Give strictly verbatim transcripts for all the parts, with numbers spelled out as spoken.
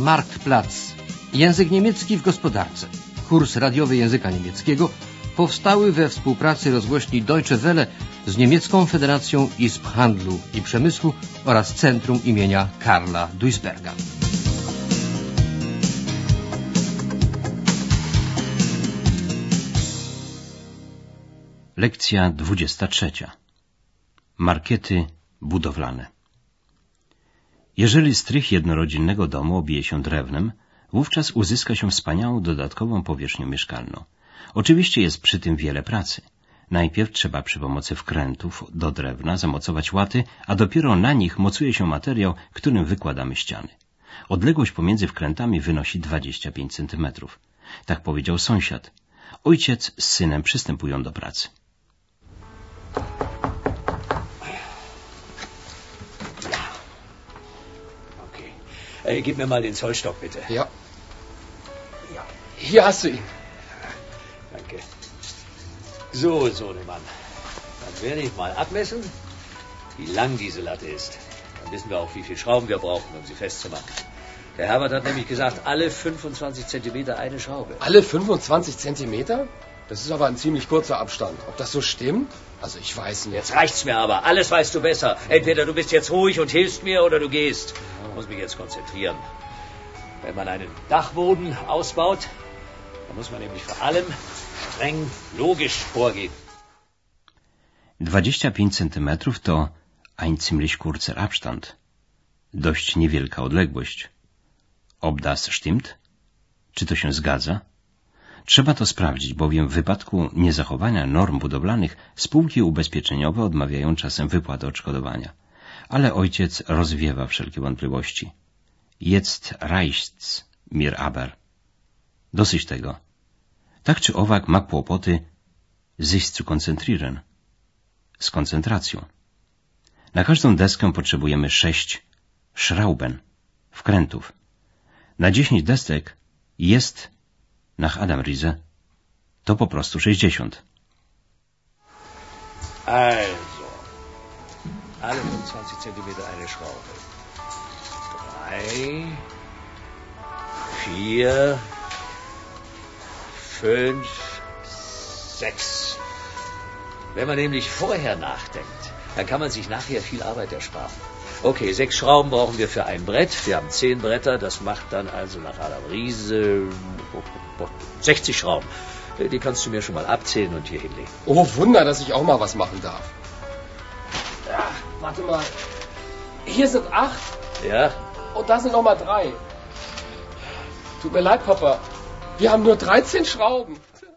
Marktplatz. Język niemiecki w gospodarce. Kurs radiowy języka niemieckiego powstały we współpracy rozgłośni Deutsche Welle z Niemiecką Federacją Izb Handlu i Przemysłu oraz Centrum imienia Karla Duisberga. Lekcja dwudziesta trzecia. Markiety budowlane. Jeżeli strych jednorodzinnego domu obije się drewnem, wówczas uzyska się wspaniałą dodatkową powierzchnię mieszkalną. Oczywiście jest przy tym wiele pracy. Najpierw trzeba przy pomocy wkrętów do drewna zamocować łaty, a dopiero na nich mocuje się materiał, którym wykładamy ściany. Odległość pomiędzy wkrętami wynosi dwadzieścia pięć centymetrów. Tak powiedział sąsiad. Ojciec z synem przystępują do pracy. Hey, gib mir mal den Zollstock, bitte. Ja. Ja. Hier hast du ihn. Danke. So, Sohnemann. Dann werde ich mal abmessen, wie lang diese Latte ist. Dann wissen wir auch, wie viele Schrauben wir brauchen, um sie festzumachen. Der Herbert hat nämlich gesagt, alle fünfundzwanzig Zentimeter eine Schraube. Alle fünfundzwanzig Zentimeter? Das ist aber ein ziemlich kurzer Abstand. Ob das so stimmt? Also ich weiß nicht. Jetzt reicht's mir aber. Alles weißt du besser. Entweder du bist jetzt ruhig und hilfst mir oder du gehst. Ich muss mich jetzt konzentrieren. Wenn man einen Dachboden ausbaut, dann muss man nämlich vor allem streng logisch vorgehen. dwadzieścia pięć centymetrów to ein ziemlich kurzer Abstand. Dość niewielka odległość. Ob das stimmt? Czy to się zgadza? Trzeba to sprawdzić, bowiem w wypadku niezachowania norm budowlanych spółki ubezpieczeniowe odmawiają czasem wypłaty odszkodowania. Ale ojciec rozwiewa wszelkie wątpliwości. Jetzt reicht's mir aber. Dosyć tego. Tak czy owak ma kłopoty sich zu konzentrieren. Z koncentracją. Na każdą deskę potrzebujemy sześć Schrauben, wkrętów. Na dziesięć desek jest, nach Adam Riese, to po prostu sześćdziesiąt. Also, alle fünfundzwanzig Zentimeter eine Schraube. Drei, vier, fünf, sechs. Wenn man nämlich vorher nachdenkt, dann kann man sich nachher viel Arbeit ersparen. Okay, sechs Schrauben brauchen wir für ein Brett. Wir haben zehn Bretter, das macht dann also nach Adam Riese sechzig Schrauben. Die kannst du mir schon mal abzählen und hier hinlegen. Oh, Wunder, dass ich auch mal was machen darf. Ja, warte mal. Hier sind acht. Ja? Und da sind noch mal drei. Tut mir leid, Papa. Wir haben nur dreizehn Schrauben.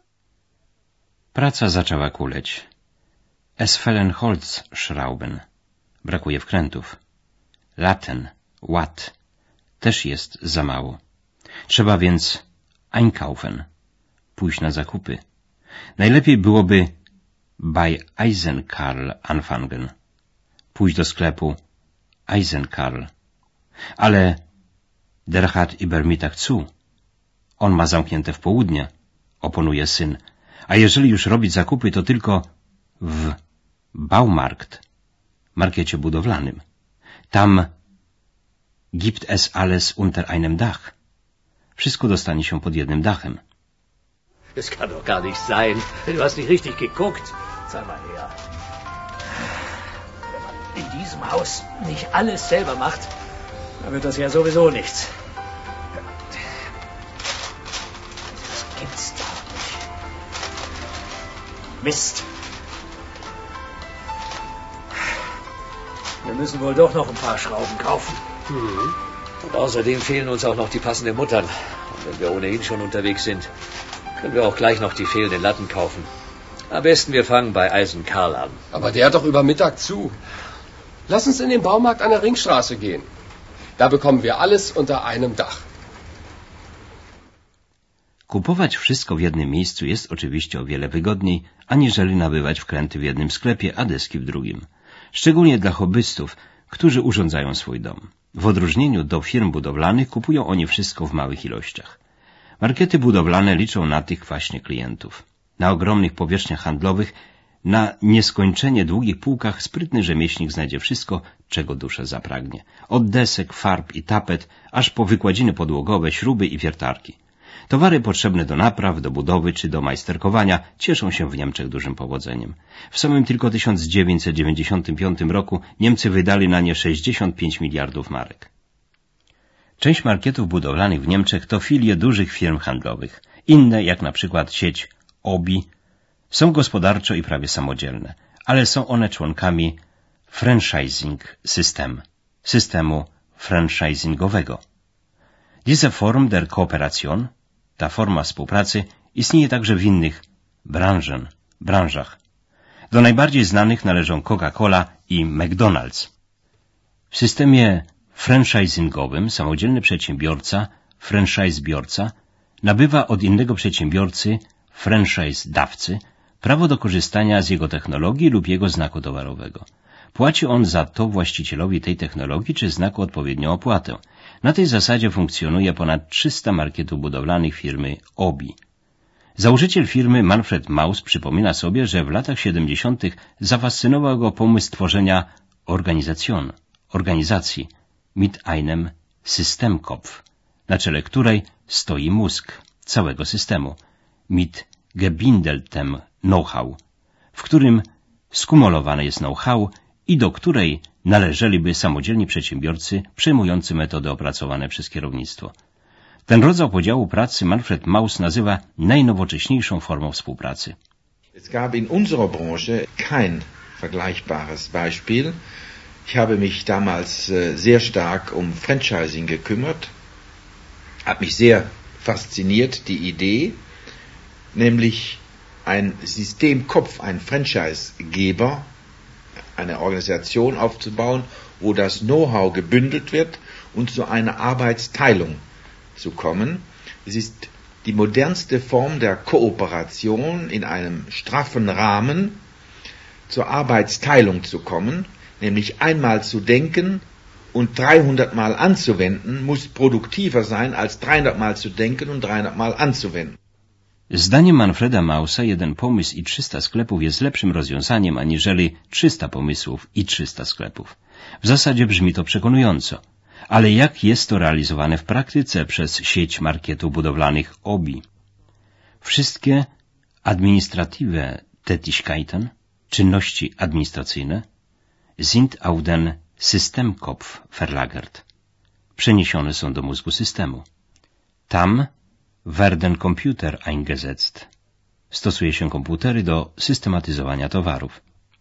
Praca zaczęła kuleć. Es fehlen Holzschrauben. Brakuje wkrętów. Latten, Watt, też jest za mało. Trzeba więc einkaufen, pójść na zakupy. Najlepiej byłoby bei Eisenkarl anfangen, pójść do sklepu Eisenkarl. Ale der hat über Mittag zu. On ma zamknięte w południe, oponuje syn. A jeżeli już robić zakupy, to tylko w Baumarkt, markecie budowlanym. Tam gibt es alles unter einem Dach. Wszystko dostanie się pod jednym dachem. Das kann doch gar nicht sein. Du hast nicht richtig geguckt. Sag mal her. Wenn man in diesem Haus nicht alles selber macht, dann wird das ja sowieso nichts. Das gibt's doch nicht. Mist. Wir müssen wohl doch noch ein paar Schrauben kaufen. Mhm. Und außerdem fehlen uns auch noch die passenden Muttern. Und wenn wir ohnehin schon unterwegs sind, können wir auch gleich noch die fehlenden Latten kaufen. Am besten wir fangen bei Eisen Karl an. Aber der hat doch über Mittag zu. Lass uns in den Baumarkt an der Ringstraße gehen. Da bekommen wir alles unter einem Dach. Kupować wszystko w jednym miejscu jest oczywiście o wiele wygodniej, aniżeli nabywać wkręty w jednym sklepie, a deski w drugim. Szczególnie dla hobbystów, którzy urządzają swój dom. W odróżnieniu do firm budowlanych kupują oni wszystko w małych ilościach. Markety budowlane liczą na tych właśnie klientów. Na ogromnych powierzchniach handlowych Na nieskończenie długich półkach sprytny rzemieślnik znajdzie wszystko, czego dusza zapragnie. Od desek, farb i tapet, aż po wykładziny podłogowe, śruby i wiertarki. Towary potrzebne do napraw, do budowy czy do majsterkowania cieszą się w Niemczech dużym powodzeniem. W samym tylko tysiąc dziewięćset dziewięćdziesiątym piątym roku Niemcy wydali na nie sześćdziesiąt pięć miliardów marek. Część markietów budowlanych w Niemczech to filie dużych firm handlowych. Inne, jak na przykład sieć Obi, są gospodarczo i prawie samodzielne, ale są one członkami franchising system, systemu franchisingowego. Diese Form der Kooperation, ta forma współpracy, istnieje także w innych branżen, branżach. Do najbardziej znanych należą Coca-Cola i McDonald's. W systemie franchisingowym samodzielny przedsiębiorca, franchisebiorca, nabywa od innego przedsiębiorcy, franchise-dawcy, prawo do korzystania z jego technologii lub jego znaku towarowego. Płaci on za to właścicielowi tej technologii czy znaku odpowiednią opłatę. Na tej zasadzie funkcjonuje ponad trzysta markietów budowlanych firmy Obi. Założyciel firmy Manfred Mauss przypomina sobie, że w latach siedemdziesiątych zafascynował go pomysł tworzenia Organisation, organizacji, mit einem Systemkopf, na czele której stoi mózg całego systemu, mit gebindeltem know-how, w którym skumulowane jest know-how i do której należeliby samodzielni przedsiębiorcy przejmujący metody opracowane przez kierownictwo. Ten rodzaj podziału pracy Manfred Mauss nazywa najnowocześniejszą formą współpracy. Es gab in unserer Branche kein vergleichbares Beispiel. Ich habe mich damals sehr stark um Franchising gekümmert. Hat mich sehr fasziniert die Idee, nämlich ein Systemkopf, ein Franchisegeber, eine Organisation aufzubauen, wo das Know-how gebündelt wird und zu einer Arbeitsteilung zu kommen. Es ist die modernste Form der Kooperation, in einem straffen Rahmen zur Arbeitsteilung zu kommen, nämlich einmal zu denken und dreihundert Mal anzuwenden, muss produktiver sein, als dreihundert Mal zu denken und dreihundert Mal anzuwenden. Zdaniem Manfreda Maussa jeden pomysł i trzysta sklepów jest lepszym rozwiązaniem aniżeli trzysta pomysłów i trzysta sklepów. W zasadzie brzmi to przekonująco. Ale jak jest to realizowane w praktyce przez sieć marketów budowlanych Obi? Wszystkie administrative Tätigkeiten, czynności administracyjne, sind auf den Systemkopf verlagert. Przeniesione są do mózgu systemu. Tam werden Computer eingesetzt. Stosuje się komputery do systematyzowania towarów.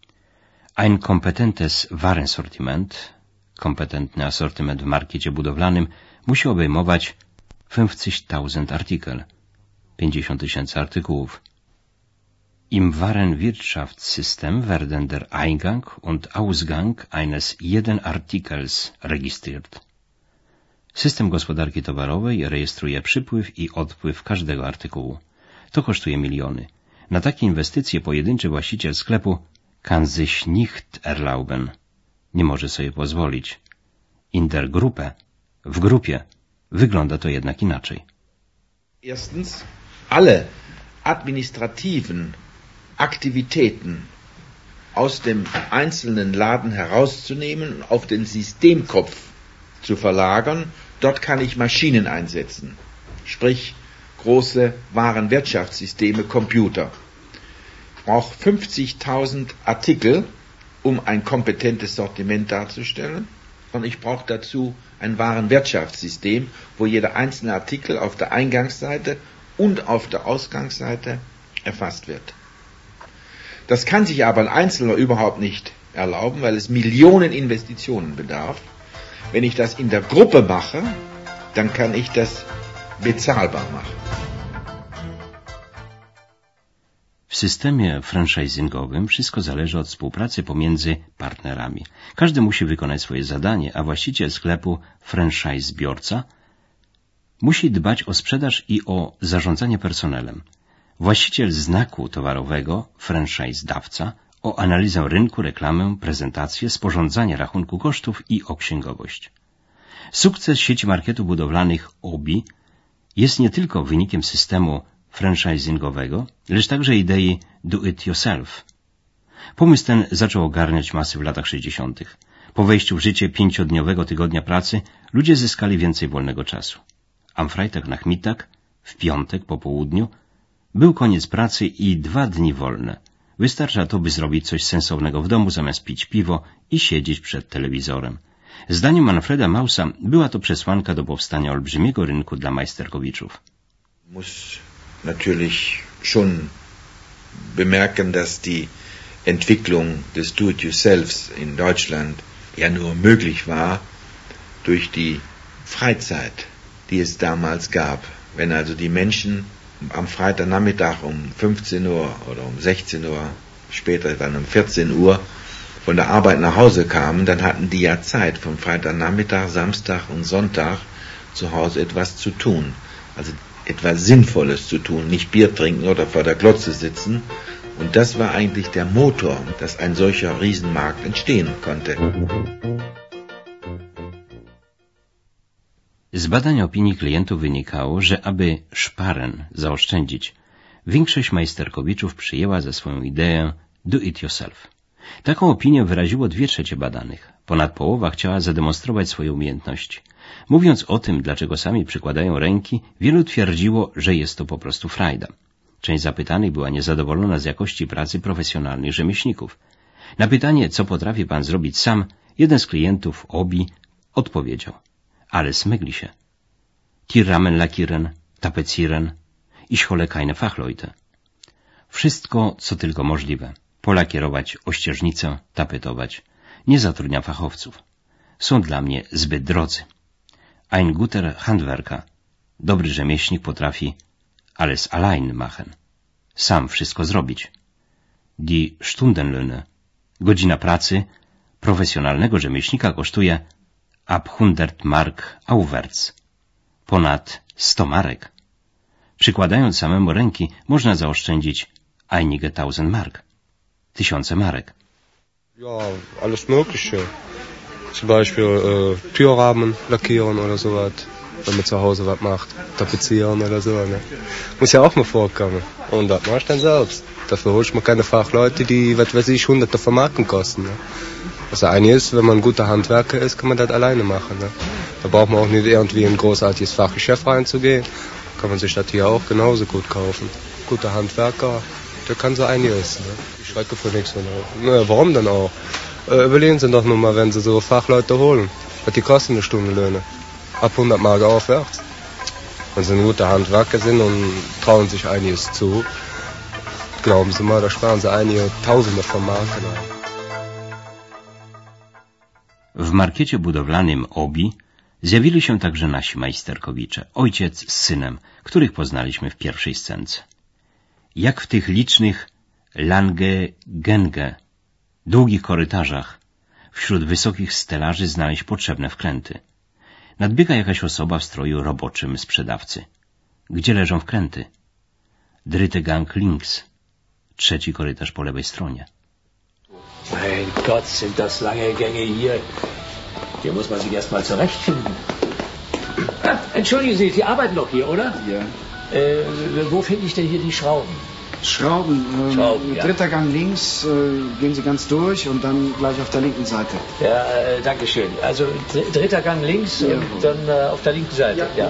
Ein kompetentes Warensortiment, kompetentny asortyment w markecie budowlanym, musi obejmować fünfzig tausend Artikel, pięćdziesiąt tysięcy artykułów. Im Warenwirtschaftssystem werden der Eingang und Ausgang eines jeden Artikels registriert. System gospodarki towarowej rejestruje przypływ i odpływ każdego artykułu. To kosztuje miliony. Na takie inwestycje pojedynczy właściciel sklepu kann sich nicht erlauben. Nie może sobie pozwolić. In der Gruppe, w grupie, wygląda to jednak inaczej. Erstens, alle administrativen Aktivitäten aus dem einzelnen Laden herauszunehmen und auf den Systemkopf zu verlagern. Dort kann ich Maschinen einsetzen, sprich große Warenwirtschaftssysteme, Computer. Ich brauche fünfzig tausend Artikel, um ein kompetentes Sortiment darzustellen. Und ich brauche dazu ein Warenwirtschaftssystem, wo jeder einzelne Artikel auf der Eingangsseite und auf der Ausgangsseite erfasst wird. Das kann sich aber ein Einzelner überhaupt nicht erlauben, weil es Millionen Investitionen bedarf. Wenn ich das in der Gruppe mache, dann kann ich das bezahlbar machen. W systemie franchisingowym wszystko zależy od współpracy pomiędzy partnerami. Każdy musi wykonać swoje zadanie, a właściciel sklepu, franchisebiorca, musi dbać o sprzedaż i o zarządzanie personelem. Właściciel znaku towarowego, franchise-dawca, o analizę rynku, reklamę, prezentację, sporządzanie rachunku kosztów i o księgowość. Sukces sieci marketów budowlanych Obi jest nie tylko wynikiem systemu franchisingowego, lecz także idei do it yourself, Pomysł ten zaczął ogarniać masy w latach sześćdziesiątych. Po wejściu w życie pięciodniowego tygodnia pracy ludzie zyskali więcej wolnego czasu. Am Freitag Nachmittag, w piątek po południu, był koniec pracy i dwa dni wolne. Wystarcza to, by zrobić coś sensownego w domu, zamiast pić piwo i siedzieć przed telewizorem. Zdaniem Manfreda Mausa była to przesłanka do powstania olbrzymiego rynku dla Majsterkowiczów. Muss natürlich schon bemerken, dass die Entwicklung des Do-it-yourselfs in Deutschland ja nur möglich war durch die Freizeit, die es damals gab. Wenn also die Menschen am Freitagnachmittag um fünfzehn Uhr oder um sechzehn Uhr, später dann um vierzehn Uhr von der Arbeit nach Hause kamen, dann hatten die ja Zeit, von Freitagnachmittag, Samstag und Sonntag zu Hause etwas zu tun. Also etwas Sinnvolles zu tun, nicht Bier trinken oder vor der Glotze sitzen. Und das war eigentlich der Motor, dass ein solcher Riesenmarkt entstehen konnte. Z badań opinii klientów wynikało, że aby szparen zaoszczędzić, większość Majsterkowiczów przyjęła za swoją ideę do it yourself. Taką opinię wyraziło dwie trzecie badanych. Ponad połowa chciała zademonstrować swoje umiejętności. Mówiąc o tym, dlaczego sami przykładają ręki, wielu twierdziło, że jest to po prostu frajda. Część zapytanych była niezadowolona z jakości pracy profesjonalnych rzemieślników. Na pytanie, co potrafi pan zrobić sam, jeden z klientów, Obi, odpowiedział: alles mögliche. Die Rahmen lackieren, tapezieren, ich hole keine Fachleute. Wszystko, co tylko możliwe. Polakierować ościeżnicę, tapetować. Nie zatrudniam fachowców. Są dla mnie zbyt drodzy. Ein guter Handwerker, dobry rzemieślnik, potrafi alles allein machen. Sam wszystko zrobić. Die Stundenlöhne, godzina pracy profesjonalnego rzemieślnika kosztuje ab hundert Mark aufwärts, ponad sto marek. Przykładając samemu ręki można zaoszczędzić einige tausend Mark, tysiące marek. Ja, alles Mögliche. Zum Beispiel äh, Türrahmen lackieren oder sowas, wenn man zu Hause was macht, tapezieren oder so. Ne? Muss ja auch mal vorkommen. Und das machst du dann selbst. Dafür holst man keine Fachleute, die, was weiß ich, hunderte von Marken kosten. Ne? Das eine ist, wenn man ein guter Handwerker ist, kann man das alleine machen. Ne? Da braucht man auch nicht irgendwie in ein großartiges Fachgeschäft reinzugehen. Kann man sich das hier auch genauso gut kaufen. Guter Handwerker, der kann so einiges. Ne? Ich schrecke für nichts. Ne? Na, warum denn auch? Äh, überlegen Sie doch nur mal, wenn Sie so Fachleute holen. Was die kosten eine Stundenlöhne? Ab hundert Mark aufwärts. Wenn Sie ein guter Handwerker sind und trauen sich einiges zu, glauben Sie mal, da sparen Sie einige Tausende von Marken. W markiecie budowlanym Obi zjawili się także nasi majsterkowicze, ojciec z synem, których poznaliśmy w pierwszej scence. Jak w tych licznych lange gänge, długich korytarzach, wśród wysokich stelaży znaleźć potrzebne wkręty. Nadbiega jakaś osoba w stroju roboczym sprzedawcy. Gdzie leżą wkręty? Dritte Gang links, trzeci korytarz po lewej stronie. Mein Gott, sind das lange Gänge hier. Hier muss man sich erst mal zurechtfinden. Ah, entschuldigen Sie, Sie arbeiten doch hier, oder? Ja. Äh, wo finde ich denn hier die Schrauben? Schrauben. Ähm, Schrauben, ja. Dritter Gang links, äh, gehen Sie ganz durch und dann gleich auf der linken Seite. Ja, äh, danke schön. Also dr dritter Gang links ja. und dann äh, auf der linken Seite. Ja. Ja.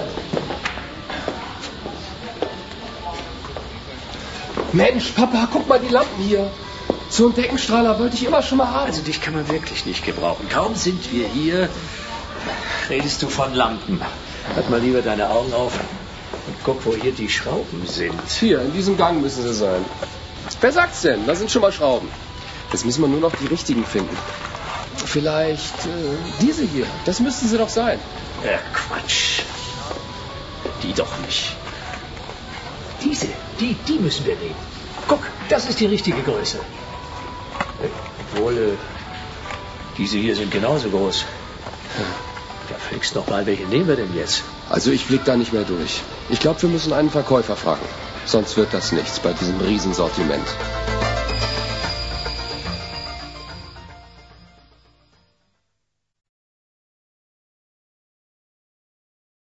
Mensch, Papa, guck mal die Lampen hier. So einen Deckenstrahler wollte ich immer schon mal haben. Also dich kann man wirklich nicht gebrauchen. Kaum sind wir hier, redest du von Lampen. Halt mal lieber deine Augen auf und guck, wo hier die Schrauben sind. Hier, in diesem Gang müssen sie sein. Wer sagt's denn? Da sind schon mal Schrauben. Jetzt müssen wir nur noch die richtigen finden. Vielleicht äh, diese hier. Das müssten sie doch sein. Ja, Quatsch. Die doch nicht. Diese, die, die müssen wir nehmen. Guck, das ist die richtige Größe. Obwohl, äh, diese hier sind genauso groß. Ja, fliegst noch mal, welche nehmen wir denn jetzt? Also ich blick da nicht mehr durch. Ich glaube, wir müssen einen Verkäufer fragen. Sonst wird das nichts bei diesem Riesensortiment.